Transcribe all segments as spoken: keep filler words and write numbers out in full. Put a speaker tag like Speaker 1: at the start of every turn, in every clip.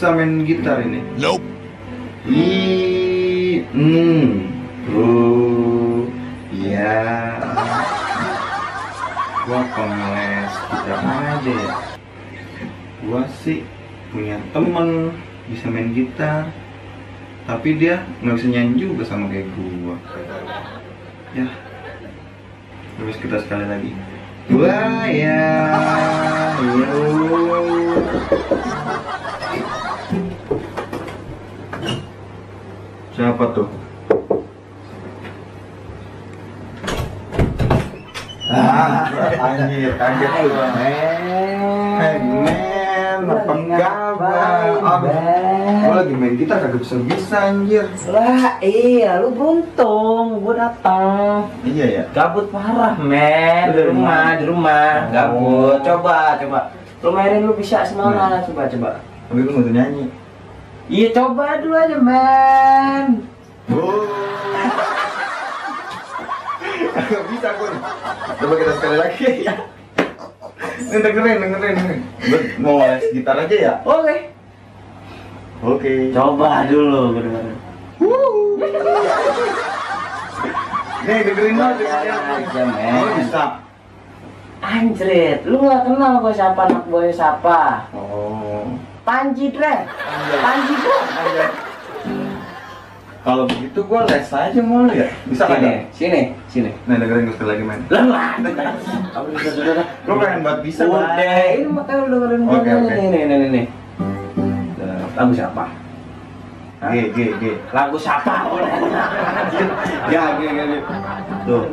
Speaker 1: bisa main gitar ini?
Speaker 2: Nope.
Speaker 1: I, hmm, oh, ya. Gua pengeles gitar aja ya. Gua sih punya temen bisa main gitar, tapi dia nggak bisa nyanyi juga sama kayak gua. Ya, terus kita sekali lagi. Wah ya, yo. Siapa tuh? Ah, anjir, kaget gua. Hey men, apa kabar? Gua lagi main gitar kagak bisa-bisa anjir.
Speaker 3: Lah iya, lu beruntung, gua datang.
Speaker 1: Iya ya.
Speaker 3: Gabut parah, men.
Speaker 1: Di
Speaker 3: Di rumah,
Speaker 1: rumah.
Speaker 3: di rumah. Gabut.
Speaker 1: Oh.
Speaker 3: Coba, coba. Lu mainin lu bisa semangat, coba, coba.
Speaker 1: Tapi lu nggak bisa nyanyi.
Speaker 3: Iya, coba dulu aja, men.
Speaker 1: Oh. Gak bisa gua nih. Coba kita sekali lagi ya. Ini dengerin, dengerin, dengerin. Gua mau les gitar aja ya.
Speaker 3: Oke.
Speaker 1: Oke.
Speaker 3: Coba dulu, gua dengerin.
Speaker 1: Nih dengerin dong,
Speaker 3: Aja,
Speaker 1: dengerin.
Speaker 3: men.
Speaker 1: Oh bisa.
Speaker 3: Anjrit, lu gak kenal gua siapa, anak boy siapa?
Speaker 1: Oh.
Speaker 3: Panji Dre. Panji Dre.
Speaker 1: Aja. Kalau begitu gua les aja mau ya. Bisa
Speaker 3: Sini,
Speaker 1: kagak?
Speaker 3: sini, sini.
Speaker 1: Nah dengerin gua sekali lagi main.
Speaker 3: Lah, lah. Apa bisa sudah?
Speaker 1: Lu pengen buat bisa
Speaker 3: Udah,
Speaker 1: Bang.
Speaker 3: ini makanya lu dengerin gua
Speaker 1: Oke,
Speaker 3: nih,
Speaker 1: oke.
Speaker 3: nih, nih, nih, nih. Lagu siapa? Hah?
Speaker 1: G, G, G.
Speaker 3: Lagu siapa?
Speaker 1: Ya, G, G, G.
Speaker 3: Tuh.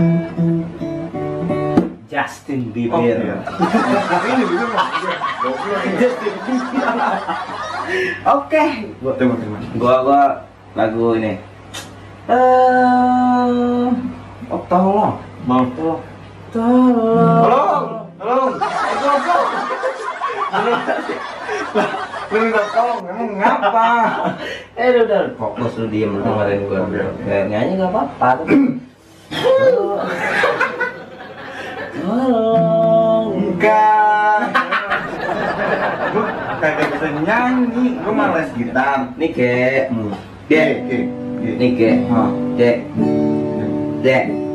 Speaker 3: Justin
Speaker 1: Oh,
Speaker 3: Bieber.
Speaker 1: iya. Ini bisa Bang. Goblok ini.
Speaker 3: Justin Bieber. Oke.
Speaker 1: Gua tembak gimana?
Speaker 3: Gua gua lagu ini. Eh, oh, tolong.
Speaker 1: Mau.
Speaker 3: Tolong. Tolong.
Speaker 1: Tolong, tolong. Lu minta tolong, emang ngapa?
Speaker 3: Eh udah, udah fokus lu diem lu dengerin gua.
Speaker 1: Oke, oke.
Speaker 3: Kayak nyanyi enggak apa-apa. Tolong. Tolong.
Speaker 1: Enggak. Gua kagak bisa nyanyi, gua males gitar.
Speaker 3: Nih ke
Speaker 1: G, G, G.
Speaker 3: nih ke
Speaker 1: Hah.
Speaker 3: D D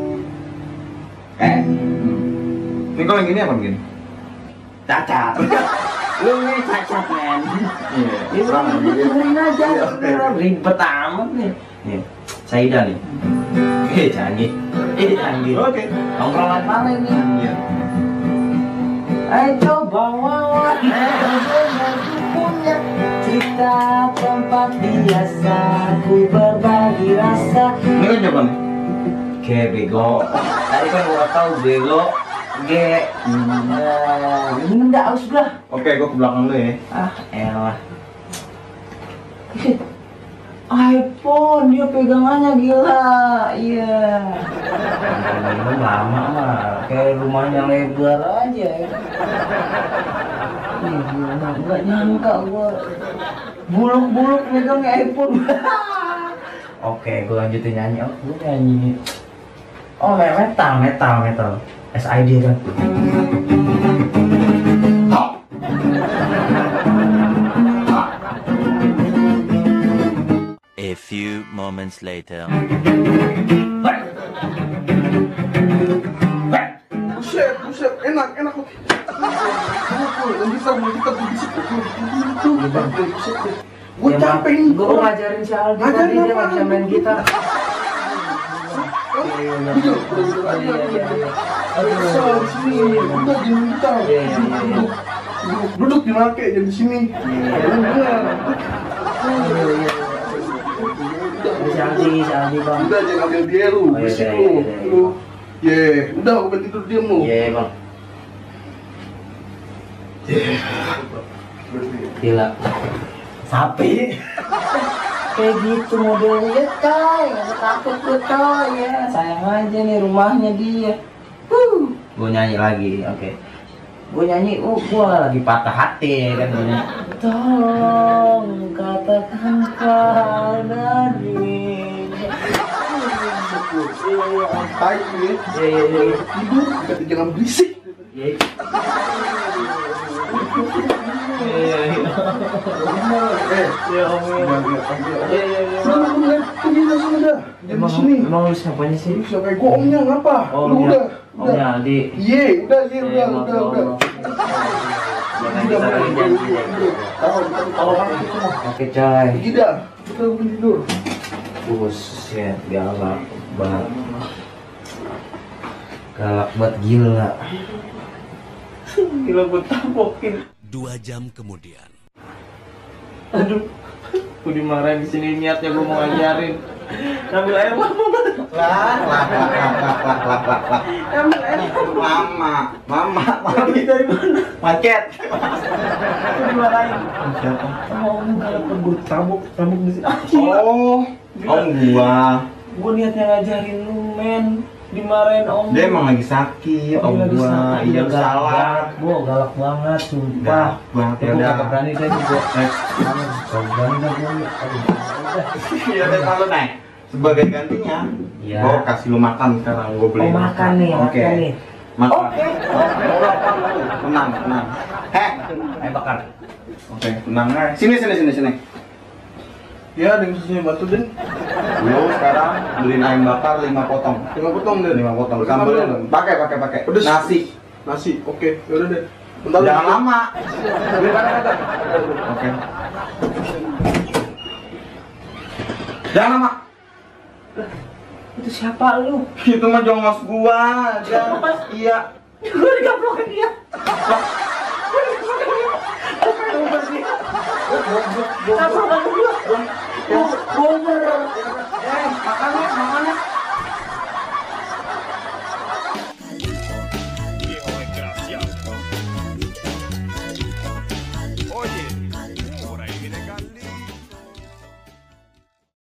Speaker 3: eh
Speaker 1: Ini kalau yang gini apa begini?
Speaker 3: cacat. Lu nih cacat, men.
Speaker 1: Iya.
Speaker 3: Ini
Speaker 1: Sama
Speaker 3: lu
Speaker 1: gitu.
Speaker 3: dengerin aja.
Speaker 1: Iya, oke.
Speaker 3: Ribet amat nih. Nih, Saida nih. Eh, canggih. Eh, canggih.
Speaker 1: Oke.
Speaker 3: Nongkrongan mana ini?
Speaker 1: Iya.
Speaker 3: Ayo coba wawan. Punya cerita tempat biasa, ku berbagi rasa.
Speaker 1: Ini kan siapa nih?
Speaker 3: Oke, bego. Tadi kan gua tahu bego. G. Nah, ini enggak harus gua.
Speaker 1: Oke, gua ke belakang lu ya.
Speaker 3: Ah, elah. iPhone dia pegangannya gila. Iya. Ini lama mah kayak rumahnya lebar aja ya. Ih, gila, nggak nyangka gua buluk-buluk megang iPhone. Oke, gua lanjutin nyanyi. Oh, gua nyanyi. Oh, metal, metal, metal. S I D kan.
Speaker 2: A few moments later.
Speaker 1: Buset, buset, enak, enak. Yang bisa, yang kita bisa. Gue
Speaker 3: Ya,
Speaker 1: capek
Speaker 3: Bang.
Speaker 1: nih.
Speaker 3: Gua ngajarin si Aldi
Speaker 1: Ngajarin
Speaker 3: tadi dia nggak
Speaker 1: apaan?
Speaker 3: bisa main gitar.
Speaker 1: Iya, iya, iya, iya. Bisa di sini, udah jangan kita.
Speaker 3: Iya, iya, iya.
Speaker 1: Duduk, duduk, duduk di nake, jangan di sini. Bener.
Speaker 3: Si Aldi, si Aldi bang.
Speaker 1: Udah jangan ambil dia lu,
Speaker 3: Oh, iya,
Speaker 1: berisik
Speaker 3: iya,
Speaker 1: lu,
Speaker 3: iya, iya.
Speaker 1: lu. Ye, udah aku berhenti tidur diam lu.
Speaker 3: Iya bang. Gila. Sapi. Kayak gitu modelnya coy, nggak usah takut gue coy ya. Sayang aja nih rumahnya dia. Huh. Gue nyanyi lagi, oke. Gue nyanyi, uh, gue lagi patah hati kan gue nyanyi. Tolong katakan padaku.
Speaker 1: Tai nih,
Speaker 3: Iya iya iya.
Speaker 1: tidur, kata jangan berisik.
Speaker 3: Iya. Iya iya.
Speaker 1: Eh,
Speaker 3: Ya om. Iya iya iya.
Speaker 1: sudah sudah pergi dah sudah. Jangan di
Speaker 3: Emang
Speaker 1: sini.
Speaker 3: emang lu siapanya sih?
Speaker 1: Lu siapa? Gua omnya ngapa? Lu udah.
Speaker 3: Omnya Aldi.
Speaker 1: Ye, udah, ye,
Speaker 3: Eh,
Speaker 1: udah,
Speaker 3: maaf,
Speaker 1: udah, udah.
Speaker 3: maaf. Jangan kita lagi janji deh.
Speaker 1: Tahu, tahu kan itu mah.
Speaker 3: Oke coy.
Speaker 1: Pergi dah. Kita pergi tidur.
Speaker 3: Buset, galak banget. Galak banget gila. Gila gue tapokin.
Speaker 4: Dua jam kemudian.
Speaker 3: Aduh, gue dimarahin di sini niatnya gue mau ngajarin. Ambil air lama banget.
Speaker 1: Lah, lah, lah, lah, lah, lah, lah, lah, lah.
Speaker 3: Ambil air
Speaker 1: Mama, mama,
Speaker 3: Ambil dari mana?
Speaker 1: macet.
Speaker 3: Gue dimarahin.
Speaker 1: Siapa?
Speaker 3: Sama om galak banget gue tabuk, tabuk di sini. Ah,
Speaker 1: Oh, om gua.
Speaker 3: Gue niatnya ngajarin lu men. Dimarahin om.
Speaker 1: Dia emang lagi sakit,
Speaker 3: Oh,
Speaker 1: om
Speaker 3: lagi
Speaker 1: gua.
Speaker 3: sakit.
Speaker 1: Iya
Speaker 3: Galak
Speaker 1: salah.
Speaker 3: banget. Gua galak banget, sumpah.
Speaker 1: Galak banget,
Speaker 3: Ya
Speaker 1: ya
Speaker 3: udah.
Speaker 1: udah.
Speaker 3: Gak berani deh gue.
Speaker 1: Eh,
Speaker 3: Gak berani dah gue. Aduh, udah.
Speaker 1: Iya, udah kalau naik. Sebagai gantinya,
Speaker 3: Iya.
Speaker 1: gua kasih lu makan sekarang. Gua beli.
Speaker 3: Oh makan nih,
Speaker 1: Oke.
Speaker 3: makan nih.
Speaker 1: Makan.
Speaker 3: Oke.
Speaker 1: Tenang, tenang. Heh.
Speaker 3: Ayo bakar.
Speaker 1: Oke, tenang aja. Sini, sini, sini, sini. Ya, dengan sini bantu Den. Lu sekarang beliin ayam bakar lima potong.
Speaker 5: lima potong deh.
Speaker 1: lima potong.
Speaker 5: Pakai
Speaker 1: Sambelnya
Speaker 5: sambal.
Speaker 1: pakai, pakai, pakai.
Speaker 5: Pedes.
Speaker 1: Nasi.
Speaker 5: Nasi, oke. Yaudah deh. Bentar
Speaker 1: Jangan
Speaker 5: dulu.
Speaker 1: lama.
Speaker 5: Beli mana kata?
Speaker 1: Oke. Jangan lama.
Speaker 3: Itu siapa lu?
Speaker 1: Itu mah jongos gua. Jangan. Iya.
Speaker 3: Gue digaplokin dia. Apa kamu gua?
Speaker 1: Eh, makan, makan.